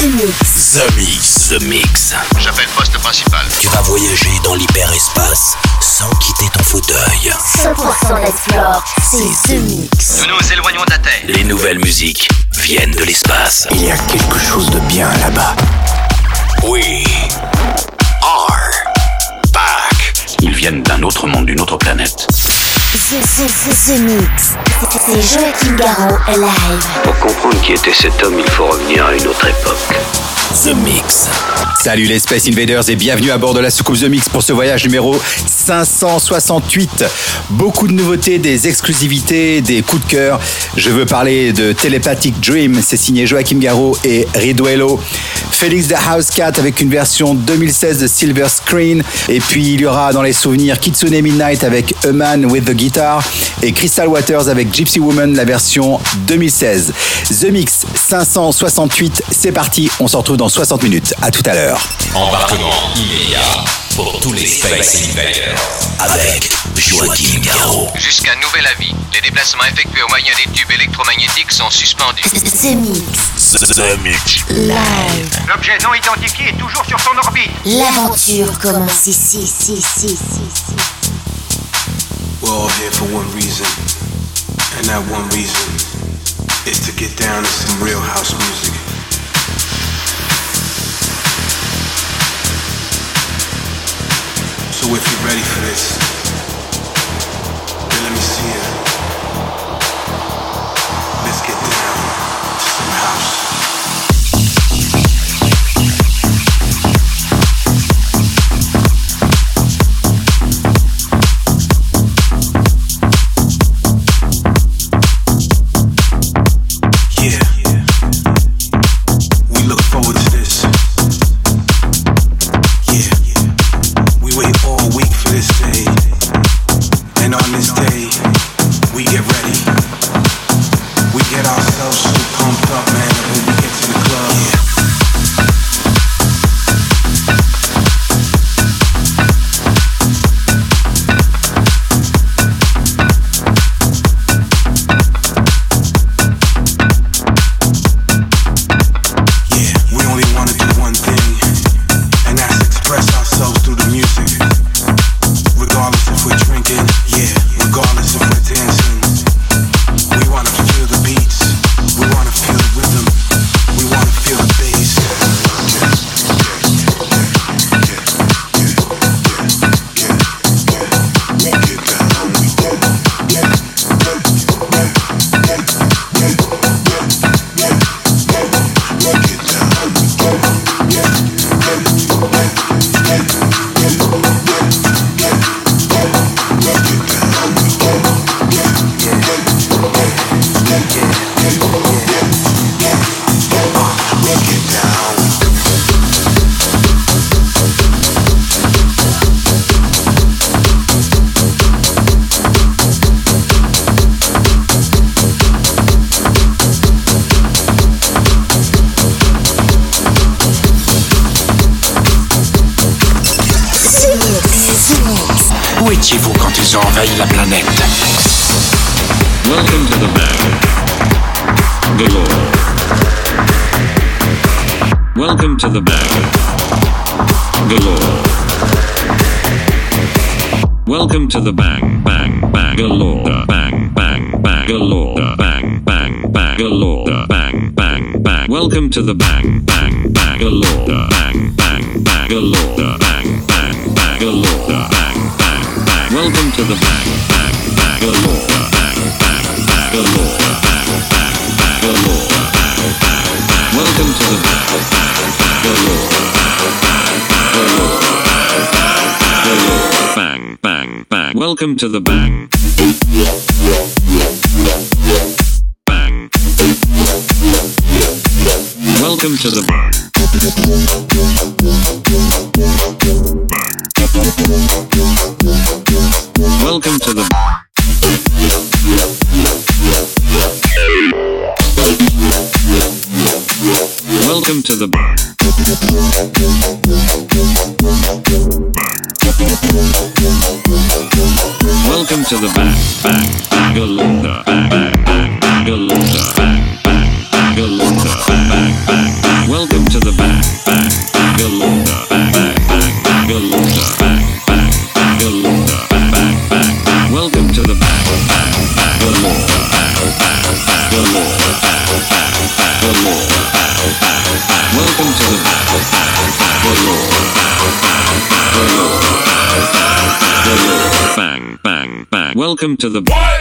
The Mix. The Mix. J'appelle poste principal. Tu vas voyager dans l'hyperespace sans quitter ton fauteuil. 100% Explore, c'est The Mix. Nous nous éloignons de la Terre. Les nouvelles musiques viennent de l'espace. Il y a quelque chose de bien là-bas. We are back. Ils viennent d'un autre monde, d'une autre planète. The Mix. C'est Joachim Garraud live. Pour comprendre qui était cet homme, il faut revenir à une autre époque. The Mix. Salut les Space Invaders et bienvenue à bord de la soucoupe The Mix pour ce voyage numéro 568. Beaucoup de nouveautés, des exclusivités, des coups de cœur. Je veux parler de Telepathic Dream, c'est signé Joachim Garraud et Riduello. Felix the House Cat avec une version 2016 de Silver Screen. Et puis il y aura dans les souvenirs Kitsune Midnight avec A Man with the Guitar et Crystal Waters avec Gypsy Woman, la version 2016. The Mix 568, c'est parti, on se retrouve dans 60 minutes. À tout à l'heure. Embarquement immédiat pour tous les Space Invaders avec Joachim Garraud. Jusqu'à nouvel avis, les déplacements effectués au moyen des tubes électromagnétiques sont suspendus. The Mix. The Mix. Live. L'objet non identifié est toujours sur son orbite. L'aventure commence ici. We're all here for one reason, and that one reason is to get down to some real house music. So if you're ready for this, then let me see it. Let's get down to some house. Étiez-vous quand ils ont envahi la planète? Welcome to the bag. Galore. Welcome to the bag. Galore. Welcome to the bang galore. Bang galore. Bang galore. Bang. Welcome to the bang galore. Bang galore. Bang galore. Welcome to the bang galore. Bang galore. Bang galore. Welcome to the bang galore. Bang. Welcome to the bang. Bang. Welcome to the bang. Welcome to the Welcome to the Welcome to the bang galore. Bang galore. Bang galore. Bang. Welcome to Welcome to the bang, bang, bang. Welcome to the bang.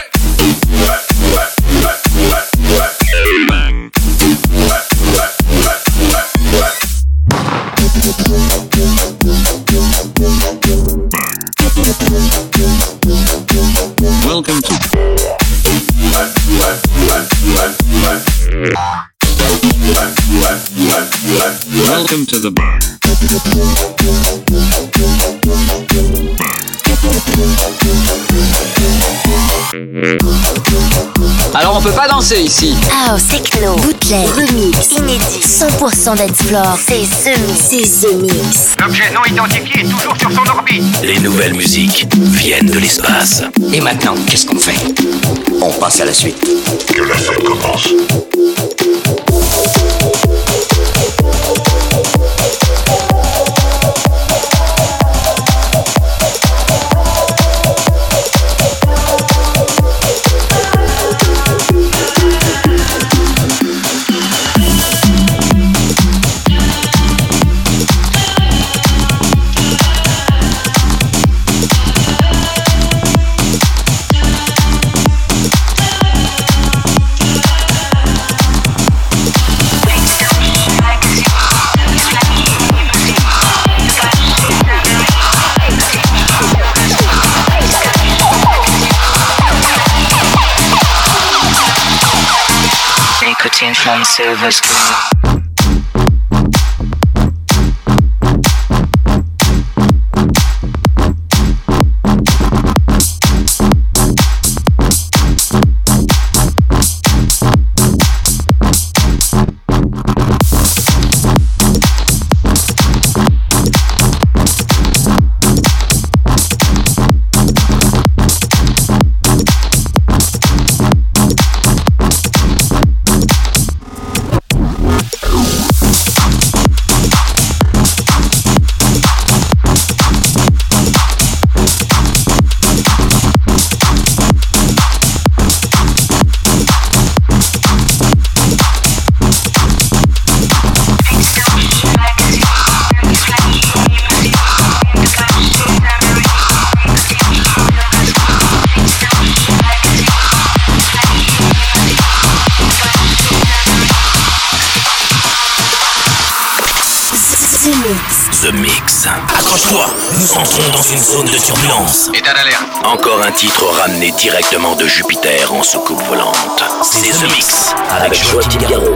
Welcome to Welcome to the bang. Alors on peut pas danser ici. House, techno, bootleg, remix, inédit, 100% d'explore. C'est The Mix. C'est The Mix. L'objet non identifié est toujours sur son orbite. Les nouvelles musiques viennent de l'espace. Et maintenant, qu'est-ce qu'on fait? On passe à la suite. Que la fête commence. From silver screen. The Mix. Accroche-toi, nous entrons dans une zone de turbulence. État d'alerte. Encore un titre ramené directement de Jupiter en soucoupe volante. C'est The Mix avec Joachim Garraud.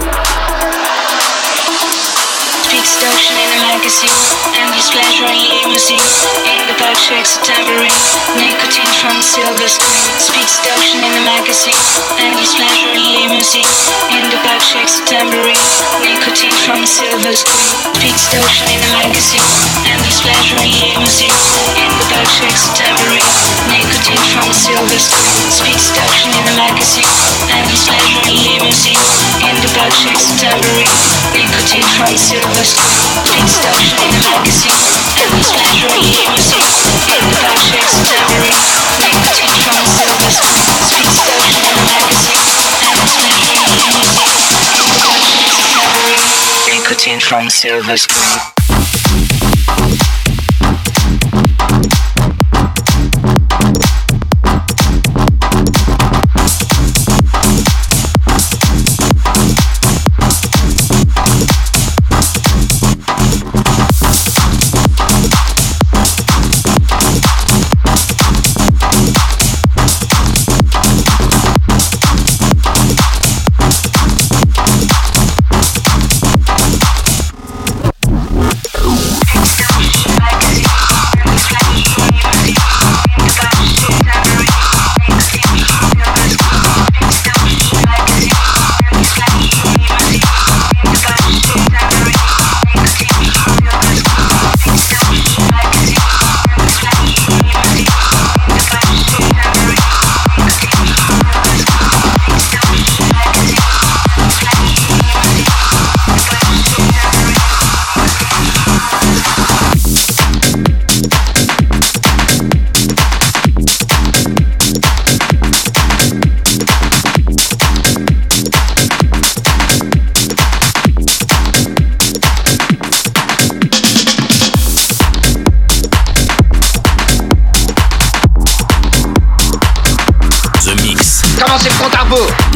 Speed seduction in a magazine, endless pleasure in limousine. In the back shakes a tambourine, nicotine from silver screen. Speed seduction in a magazine, endless pleasure in limousine. In the back shakes a tambourine, nicotine from silver screen. Speed seduction in a magazine, endless pleasure in limousine. In the back shakes a tambourine, nicotine from silver screen. Speed seduction in a magazine, endless pleasure in limousine. In the back shakes a tambourine, nicotine from silver screen. Speed seduction in a magazine, endless pleasure in limousine. In the back shakes a tambourine, nicotine from silver screen. Speed seduction in a magazine, endless pleasure in limousine. In the back shakes a tambourine, nicotine from silver screen.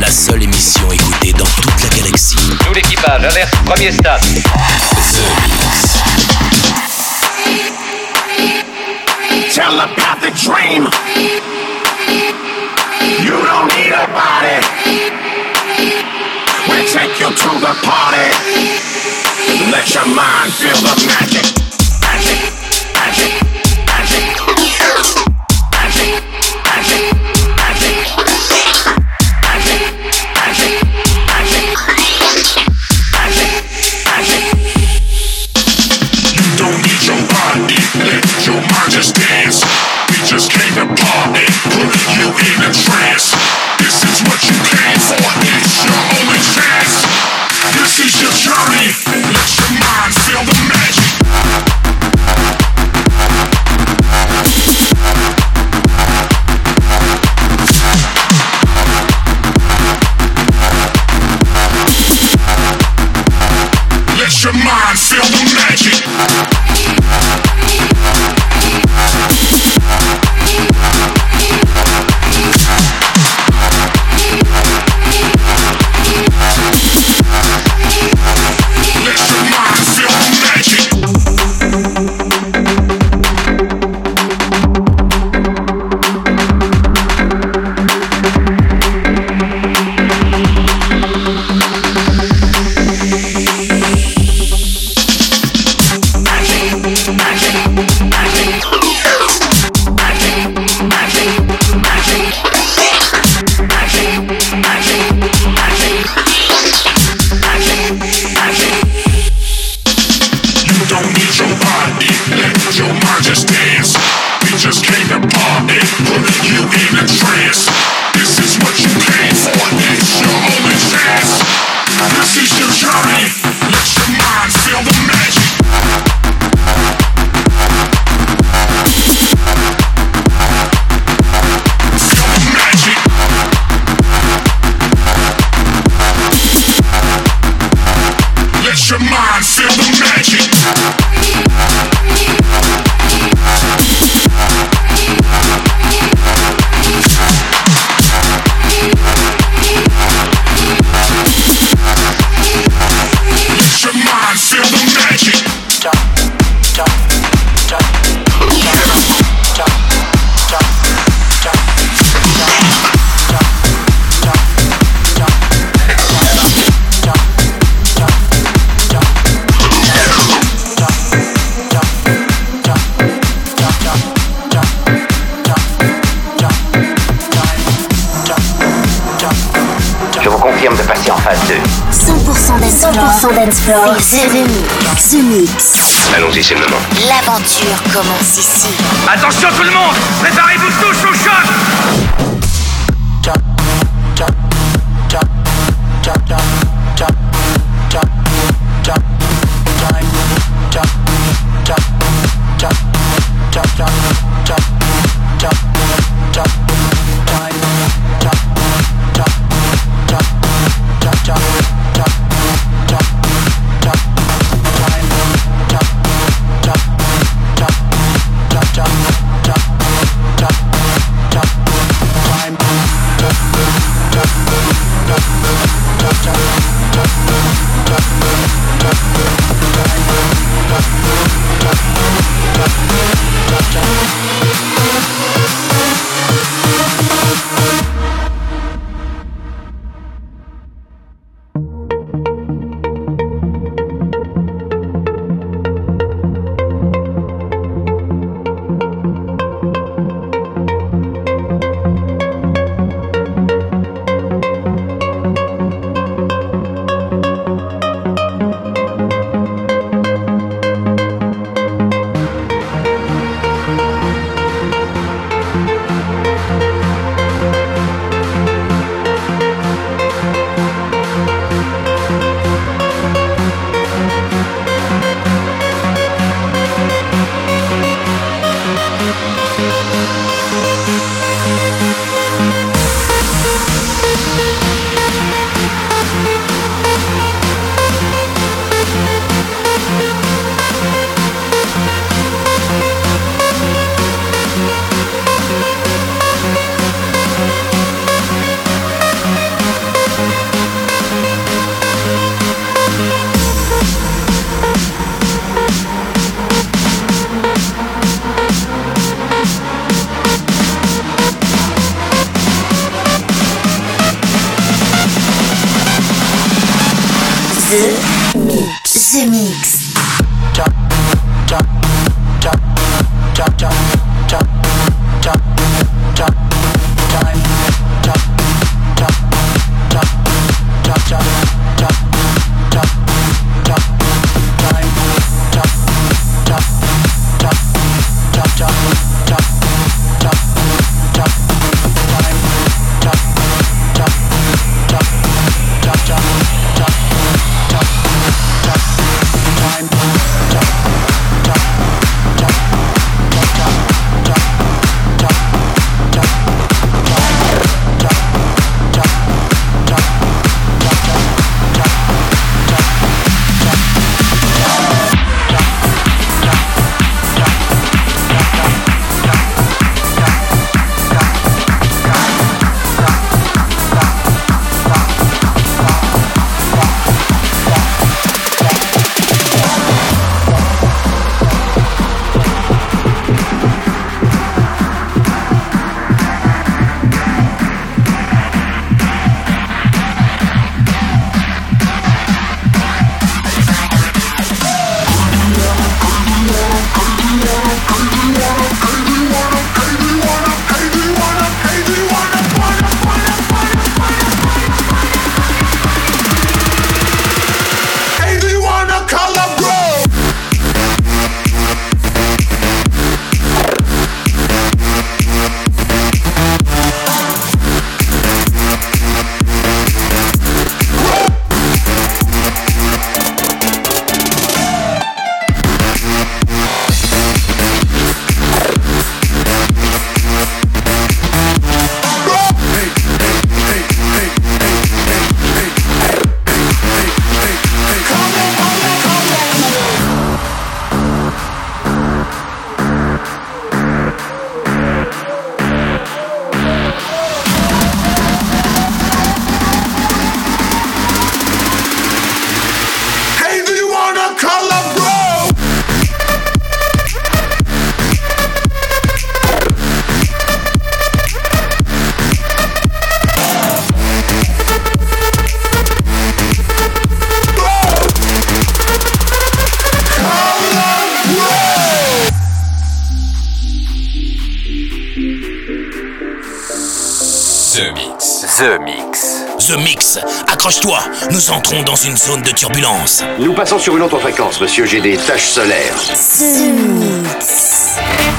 la seule émission écoutée dans toute la galaxie. Tout l'équipage, alerte, premier stade. The Mix. Telepathic dream. You don't need a body. We'll take you to the party. Let your mind feel the magic. Magic, magic, magic. Magic, magic, magic. Magic, magic, magic. Magic, magic. You don't need your body. Let your mind just dance. We just came to party. Put you in a trance. This is what you came for. It's your only chance. This is your journey. Let your mind feel the magic. Let your mind feel the magic. De passer en phase 2. 100% d'Explore. C'est The Mix. Allons-y, c'est le moment. L'aventure commence ici. Attention tout le monde, préparez-vous tous au choc. Mix. The Mix. The Mix. Accroche-toi, nous entrons dans une zone de turbulence. Nous passons sur une autre fréquence, monsieur, j'ai des taches solaires. The Mix.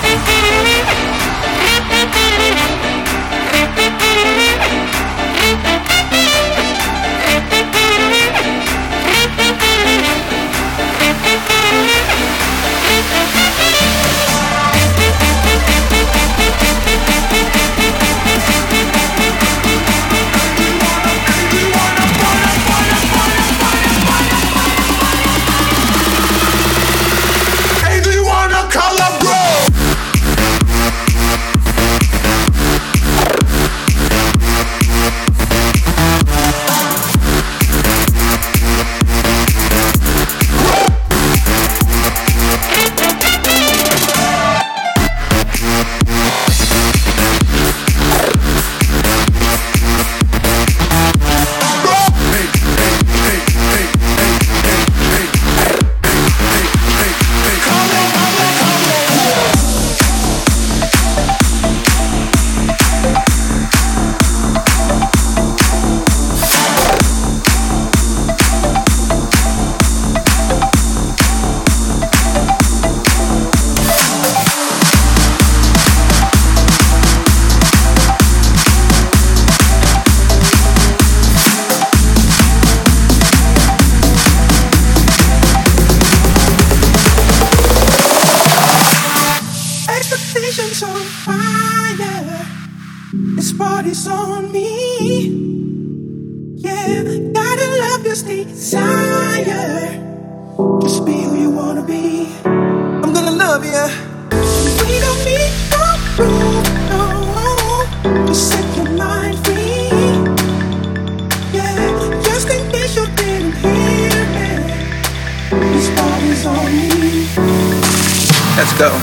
Let's go.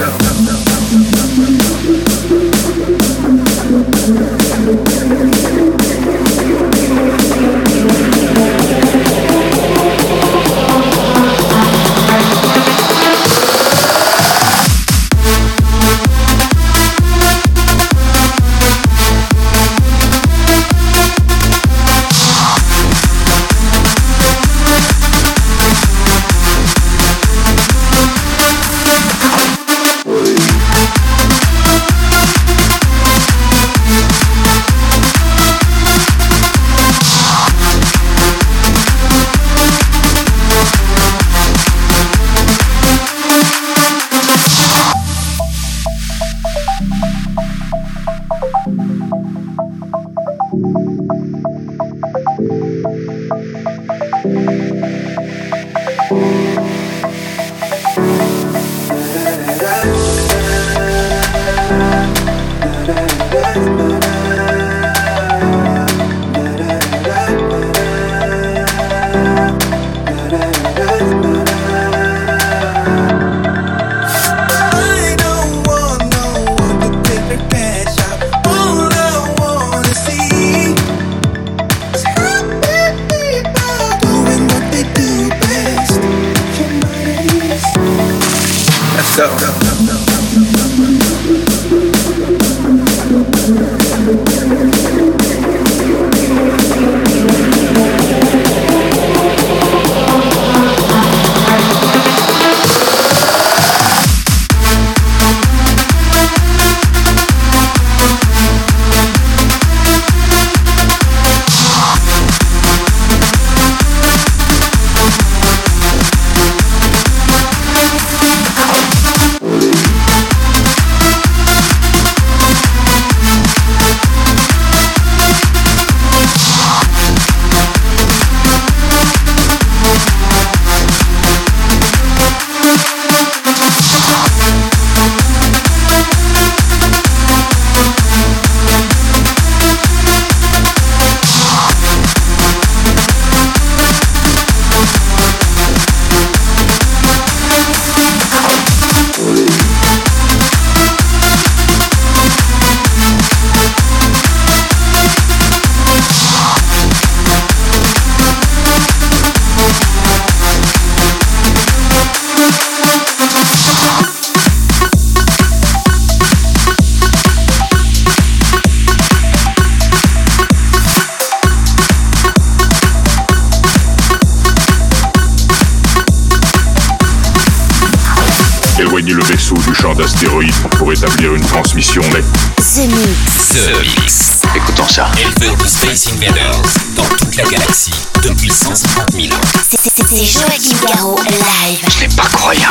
up. Éloignez le vaisseau du champ d'astéroïdes pour établir une transmission nette. The Mix. The Mix. Écoutons ça. Éleveur de Space Invaders dans toute la galaxie depuis 150 000 ans. C'est Joachim Garraud live. Ce n'est pas croyable.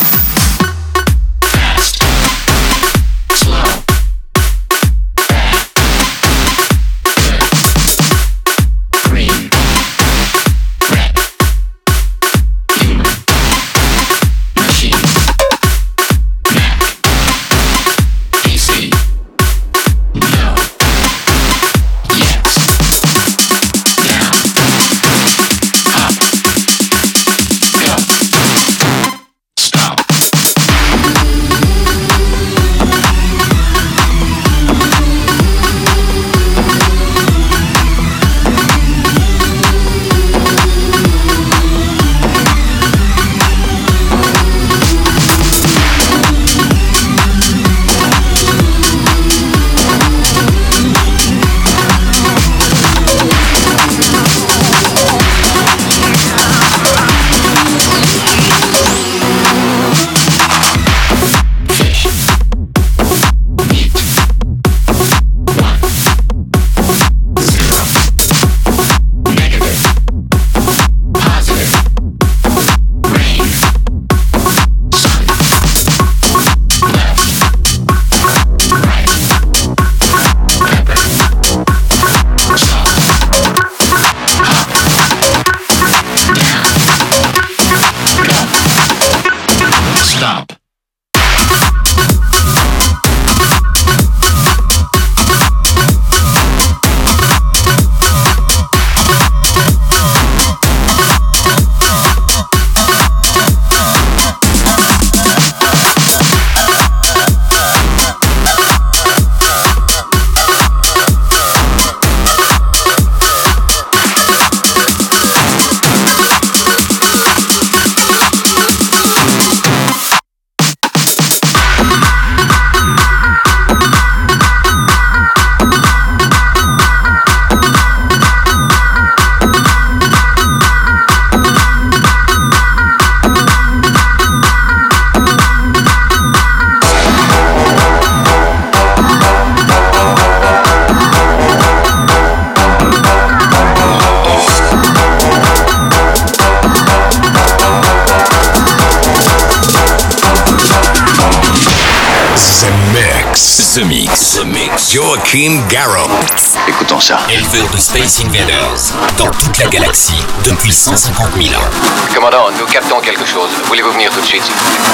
The Mix. The Mix. Joachim Garraud. Écoutons ça. Éleveur de Space Invaders dans toute la galaxie depuis 150 000 ans. Commandant, nous captons quelque chose. Voulez-vous venir tout de suite?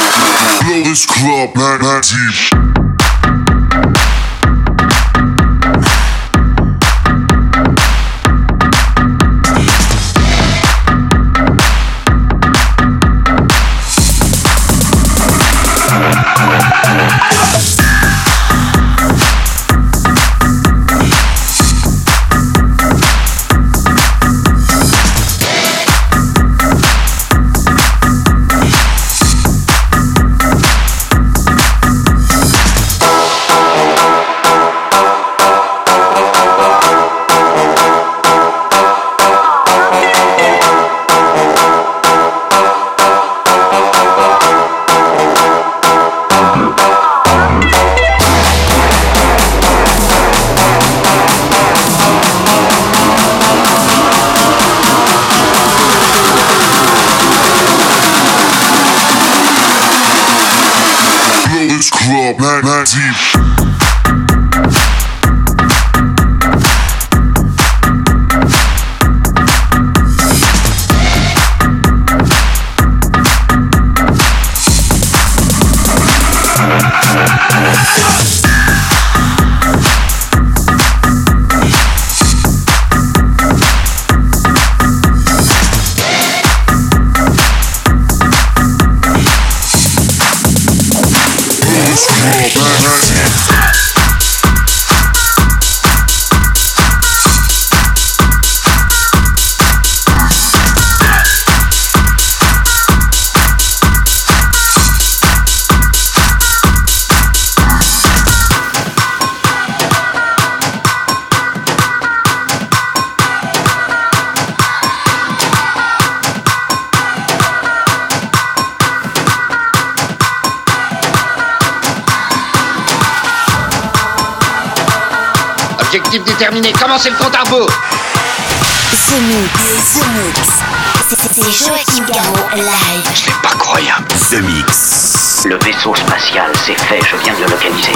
Blow this club, man, deep. club, night deep. Objectif déterminé, commencez le compte à rebours. The Mix. C'est Joachim Garraud live. C'est pas croyable. The Mix. Le vaisseau spatial, c'est fait, je viens de le localiser.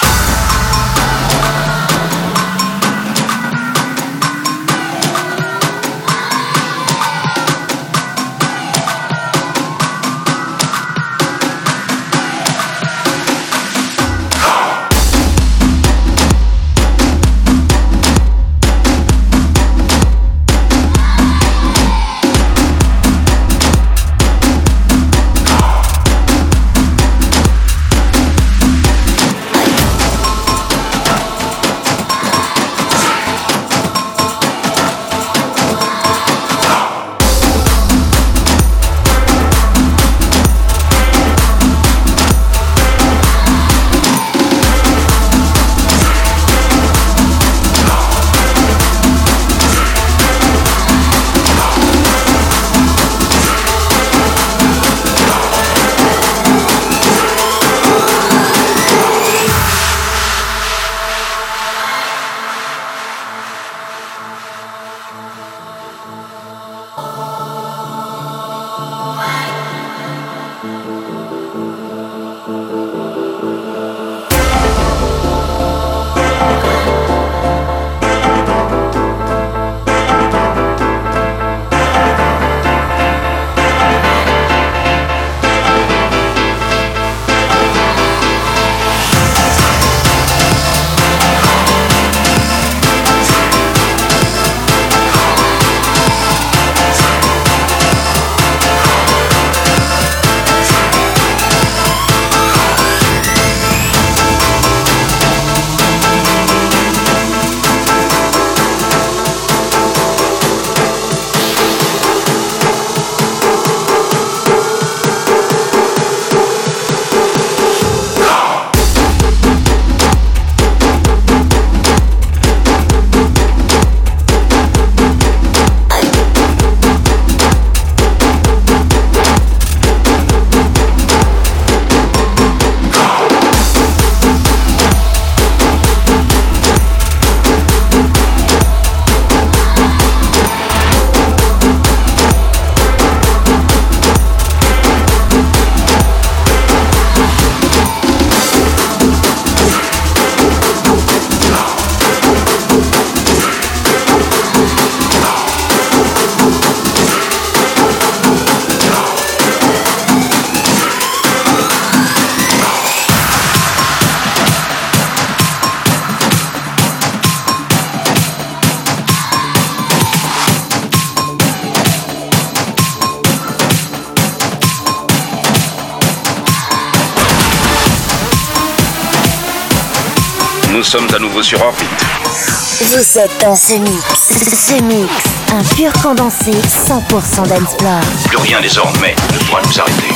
Nous sommes à nouveau sur orbite. Vous êtes dans The Mix. The Mix, un pur condensé 100% d'Ensplore. Plus rien désormais ne pourra nous arrêter.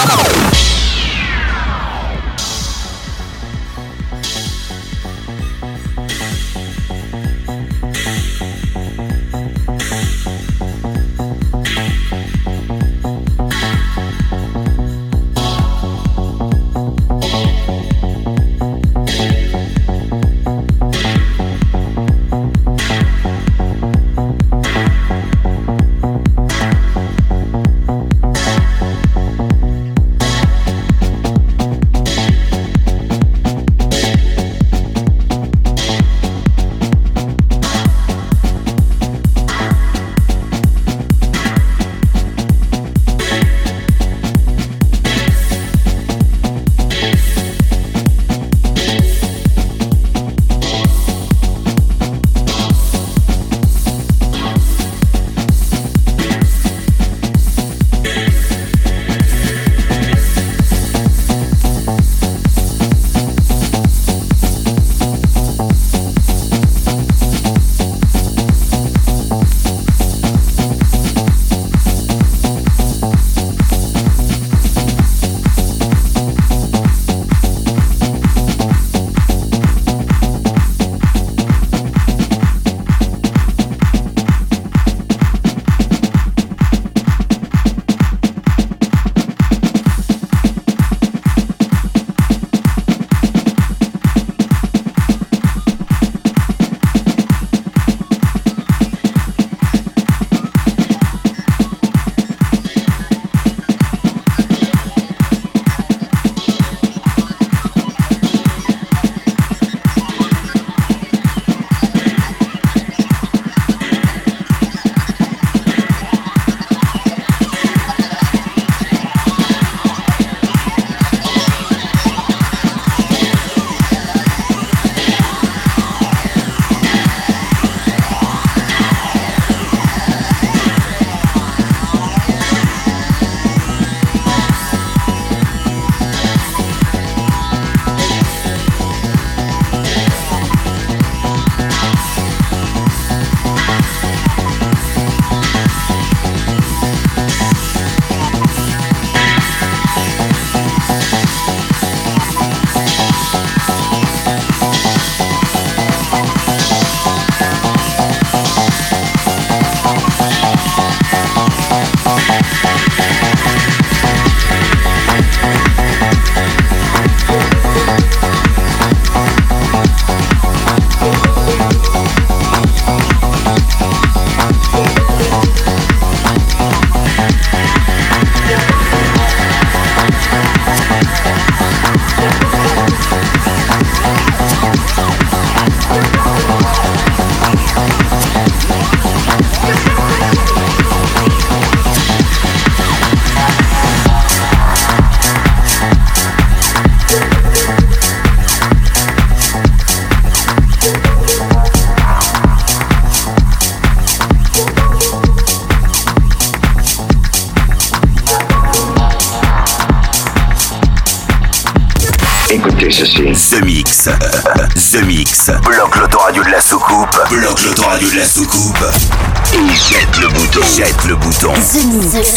Écoutez ceci. The Mix. The Mix. Bloque l'autoradio de la soucoupe. Bloque l'autoradio de la soucoupe. Et jette le bouton. Jette le bouton. The Mix.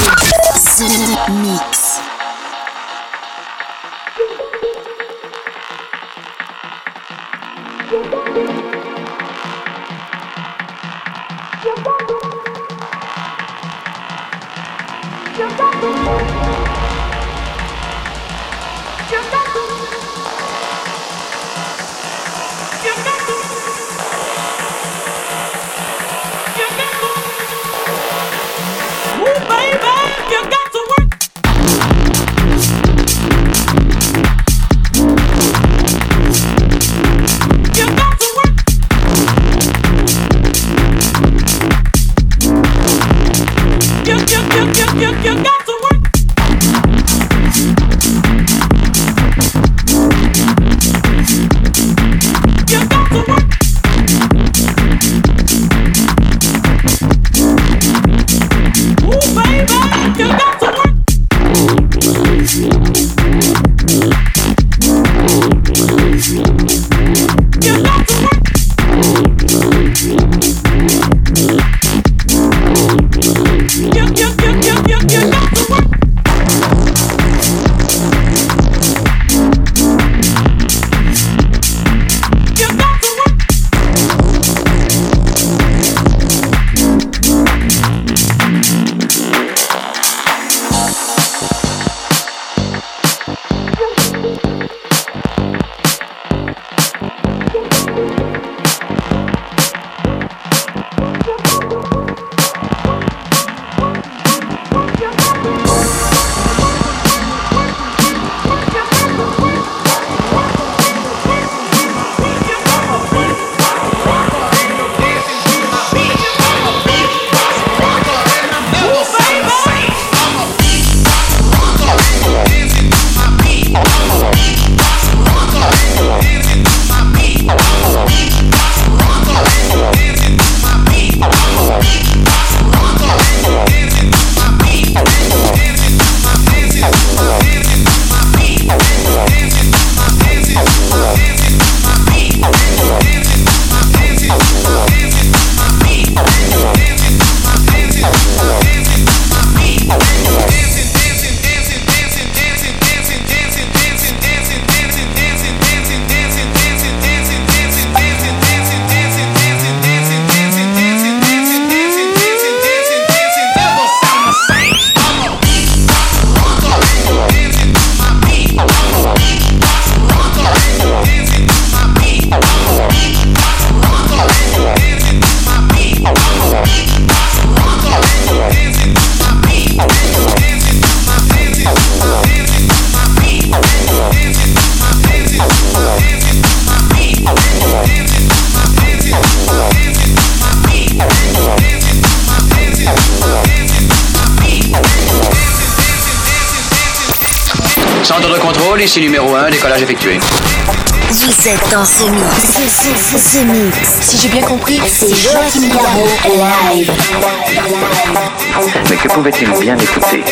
The Mix. Ooh, baby, you got to work. Centre de contrôle, ici numéro 1, décollage effectué. Vous êtes dans ce mix. Ce mix. Si j'ai bien compris, c'est Joachim Garraud live. Mais que pouvait-il bien écouter?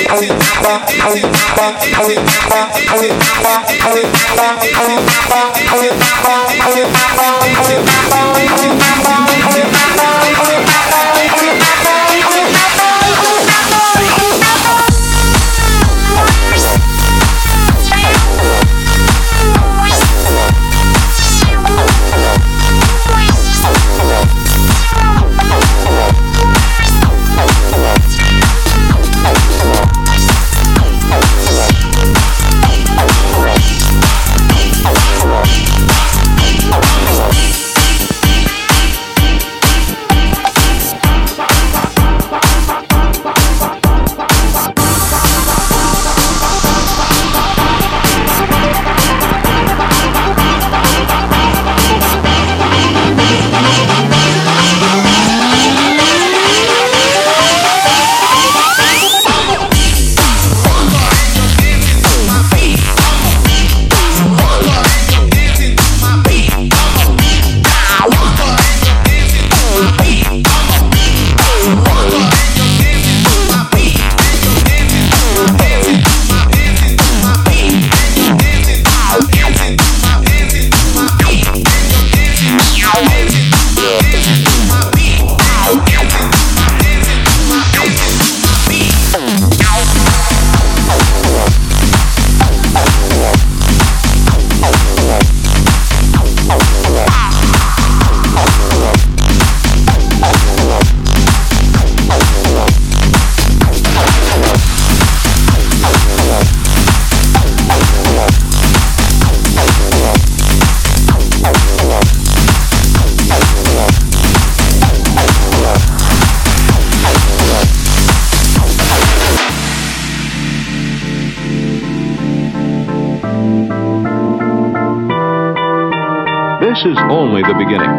This is only the beginning.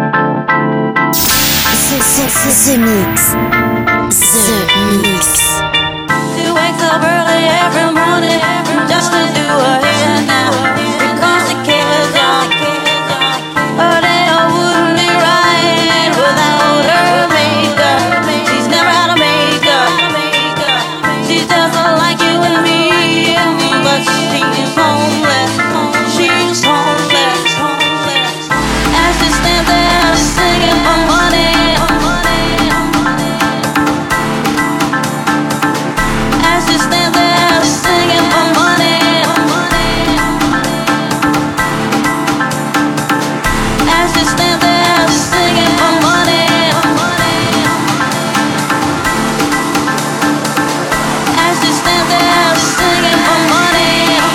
The Mix. The Mix. She wakes up early every morning just to do her hair now. Because she cares, y'all. Her day wouldn't be right without her makeup. She's never had a makeup. She's just like you and me, but she's homeless. She's homeless. As she stands there singing for money. As she stands there singing for money. As she stands there singing for money. As she stands there singing for money.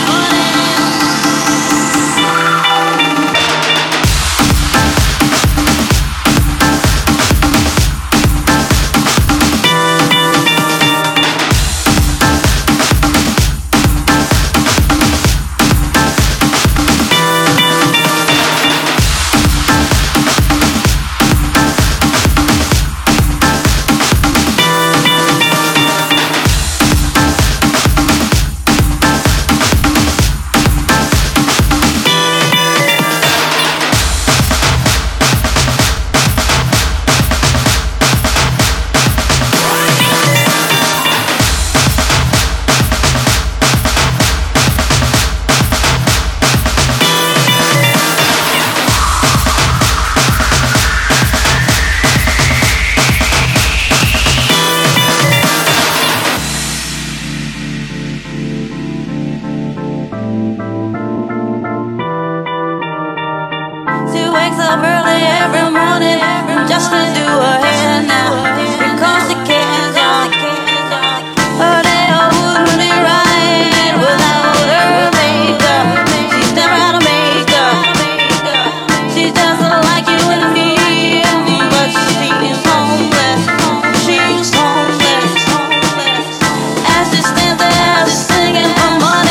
She wakes up early every morning just to do her hair now. Because she cares, y'all. Her day wouldn't be right without her makeup. She's never had a makeup. She's just like you and me, but she's homeless. She's homeless. As she stands there singing for money.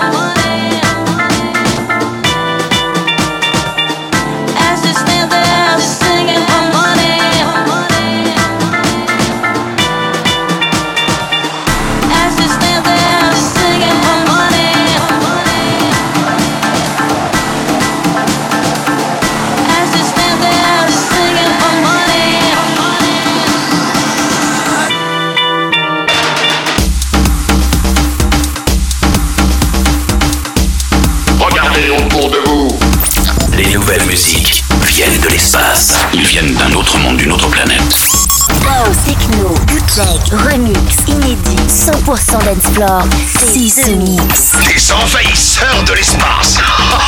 As she stands there parler autour de vous. Les nouvelles musiques viennent de l'espace. Ils viennent d'un autre monde, d'une autre planète. House, techno, bootleg, remix, inédit, 100% dancefloor, c'est The Mix. Des envahisseurs de l'espace.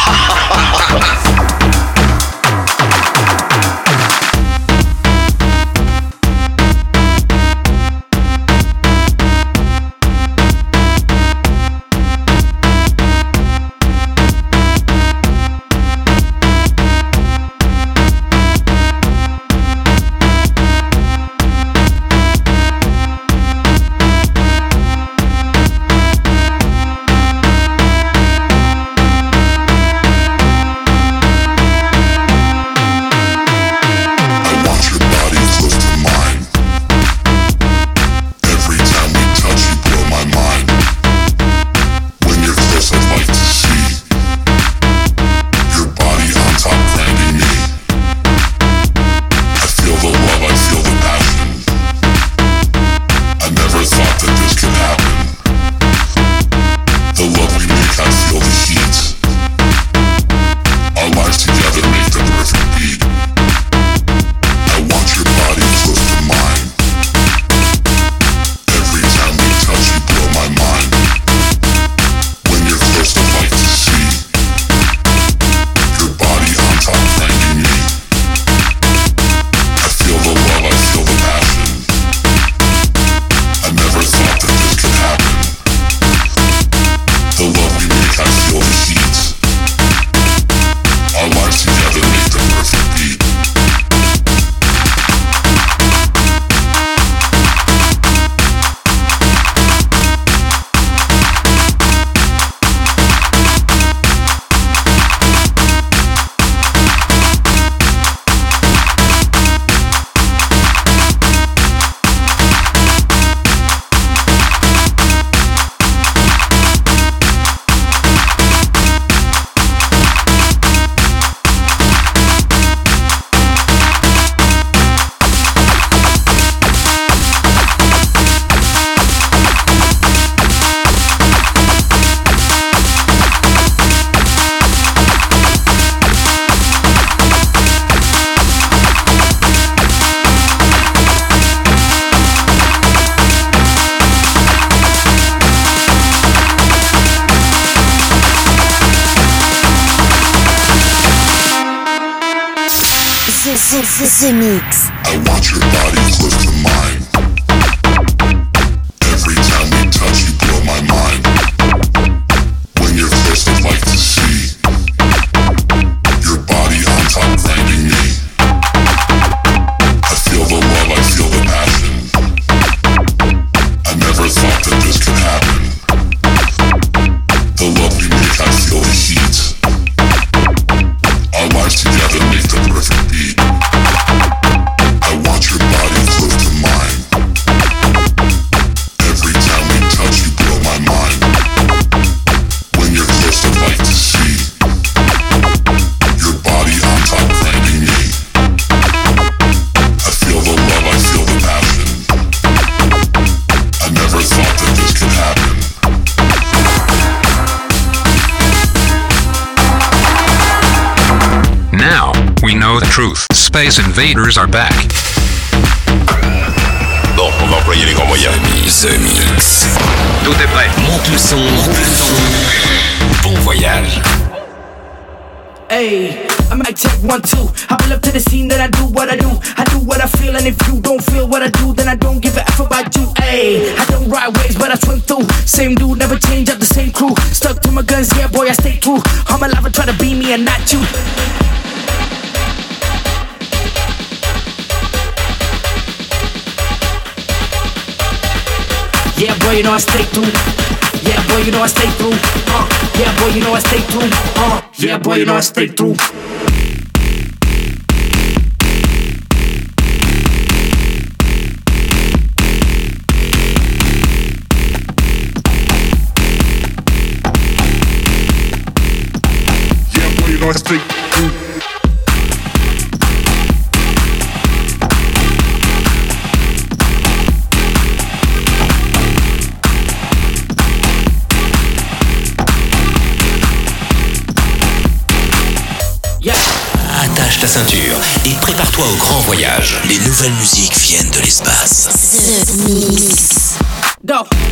The Mix. I want your body close to mine. Every time we touch, you blow my mind. When you're close, I'd like to see your body on top grinding me. I feel the love, I feel the passion. I never thought that this could happen. The love we make, I feel the heat. Our lives together make the perfect beat. I want your body close to mine. Every time we touch, you blow my mind. When you're close, I'd like to see your body on top grinding me. I feel the love, I feel the passion. I never thought that this could happen. Now, we know the truth. Space Invaders are back. Bon, on va employer les grands moyens. The Mix. Tout est prêt. Monte le son, roule le son. Bon voyage. Hey, I'm mic check 1, 2. I pull up to the scene, then I do what I do. I do what I feel, and if you don't feel what I do, then I don't give a F about you. Hey, I don't ride waves, but I swim through. Same dude, never change up the same crew. Stuck to my guns, yeah, boy, I stay true. I'm alive and try to be me and not you. Yeah, boy, you know I stay through. Yeah, boy, you know I stay through. Yeah, boy, you know I stay through. Yeah, boy, you know I stay through. Yeah, boy, you know I stay through. attache ta ceinture et prépare-toi au grand voyage. Les nouvelles musiques viennent de l'espace. The Mix. Go.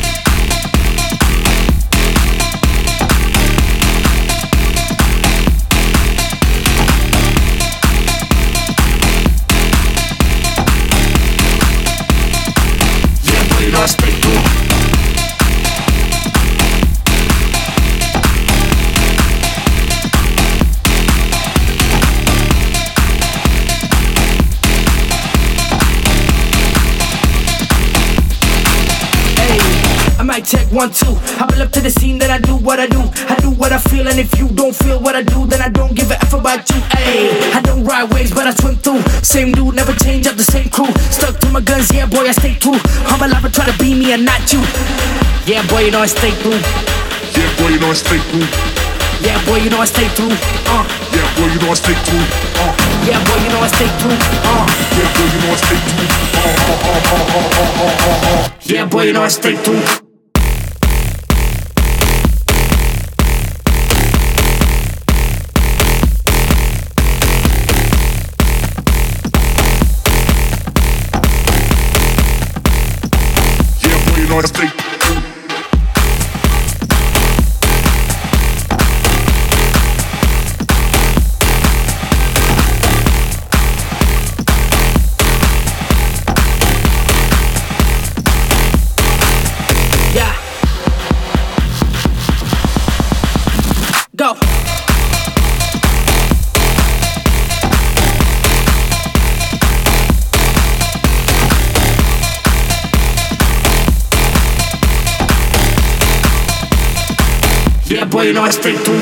Check 1, 2. I pull up to the scene, then I do what I do. I do what I feel, and if you don't feel what I do, then I don't give a F about you. Ayy, I don't ride waves, but I swim through. Same dude, never change up the same crew. Stuck to my guns, yeah, boy, I stay true. I'm alive, try to be me and not you. Yeah, boy, you know I stay through. Yeah, boy, you know I stay through. Yeah, boy, you know I stay through. Yeah, boy, you know I stay through. Yeah, boy, you know I stay through. Yeah, boy, you know I stay through. Yeah, boy, you know I stay through. Go. Yeah, boy, you know I stay through.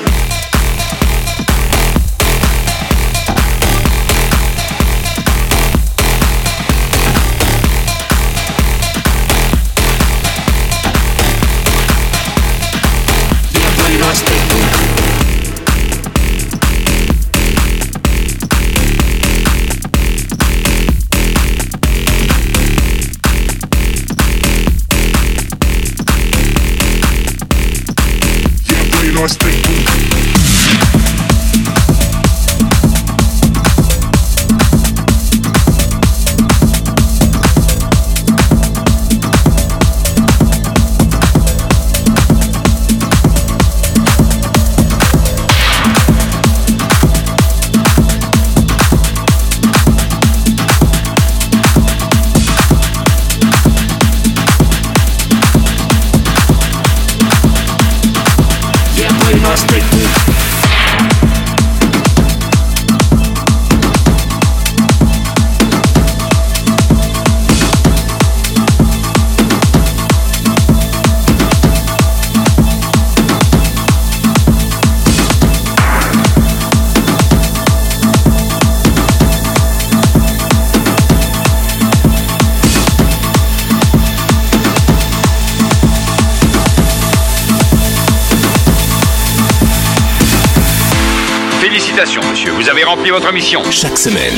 Félicitations, monsieur, vous avez rempli votre mission. Chaque semaine,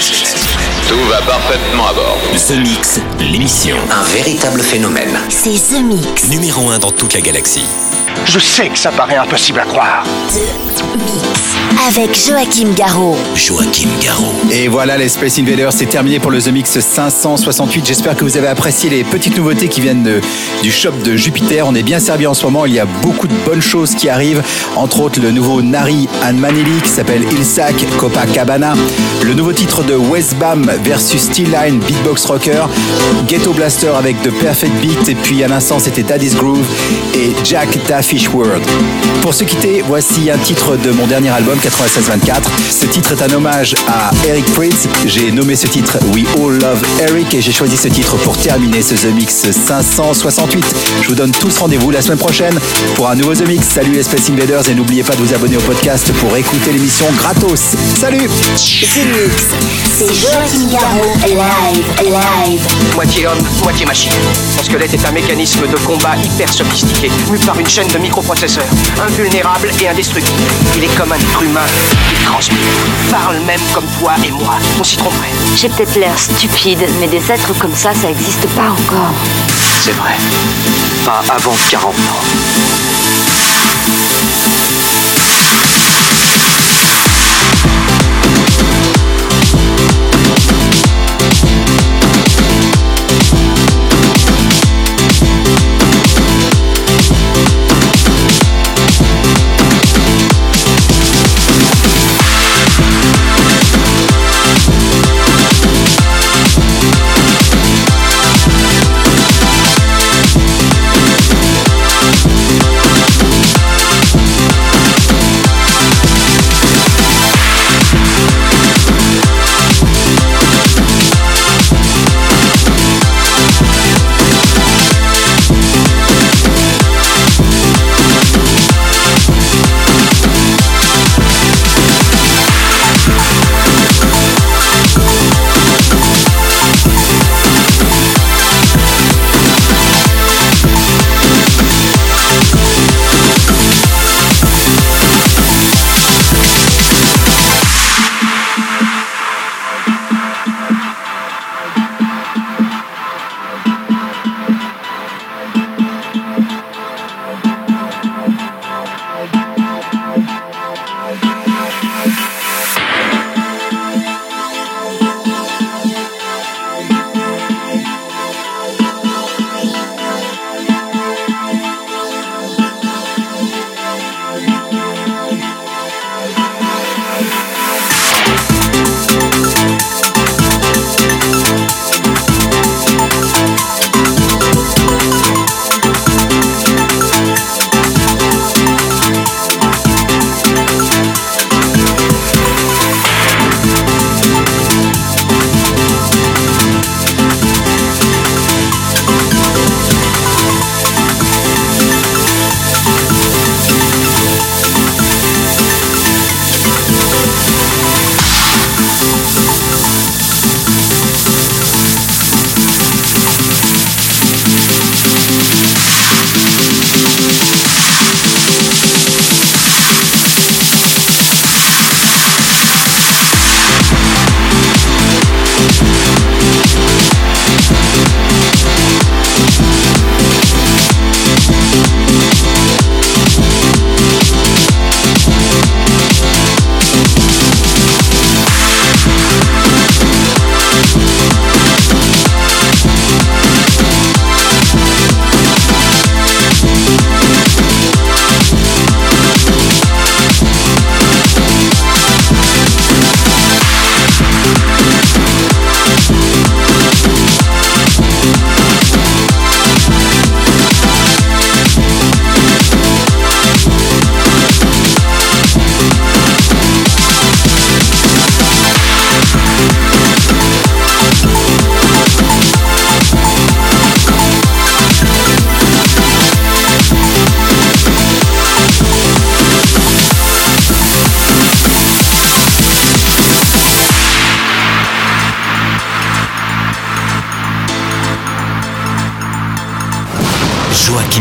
tout va parfaitement à bord. The Mix, l'émission. Un véritable phénomène. C'est The Mix. Numéro 1 dans toute la galaxie. Je sais que ça paraît impossible à croire. The Mix. Avec Joachim Garraud. Joachim Garraud. Et voilà, les Space Invaders, c'est terminé pour le The Mix 568. J'espère que vous avez apprécié les petites nouveautés qui viennent du shop de Jupiter. On est bien servi en ce moment. Il y a beaucoup de bonnes choses qui arrivent. Entre autres, le nouveau Nari and Manili qui s'appelle Ilsak Copacabana. Le nouveau titre de Westbam versus Steel Line Beatbox Rocker. Ghetto Blaster avec The Perfect Beat. Et puis à l'instant, c'était Daddy's Groove et Jack Da Fish World. Pour se quitter, voici un titre de mon dernier album, 9624. Ce titre est un hommage à Eric Prydz. J'ai nommé ce titre We All Love Eric et j'ai choisi ce titre pour terminer ce The Mix 568. Je vous donne tous rendez-vous la semaine prochaine pour un nouveau The Mix. Salut les Space Invaders et n'oubliez pas de vous abonner au podcast pour écouter l'émission gratos. Salut! The Mix, c'est Joachim Garraud live. Moitié homme, moitié machine. Son squelette est un mécanisme de combat hyper sophistiqué, mu par une chaîne de microprocesseurs, invulnérable et indestructible. Il est comme un être humain, il transpire, parle même comme toi et moi. On s'y tromperait. J'ai peut-être l'air stupide, mais des êtres comme ça n'existe pas encore. C'est vrai. Pas avant 40 ans.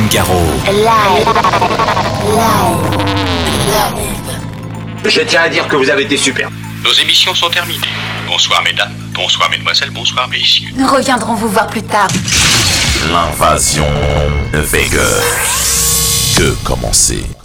Garo. Live. Je tiens à dire que vous avez été super. Nos émissions sont terminées. Bonsoir mesdames, bonsoir mesdemoiselles, bonsoir messieurs. Nous reviendrons vous voir plus tard. L'invasion de Vega. Que commencer?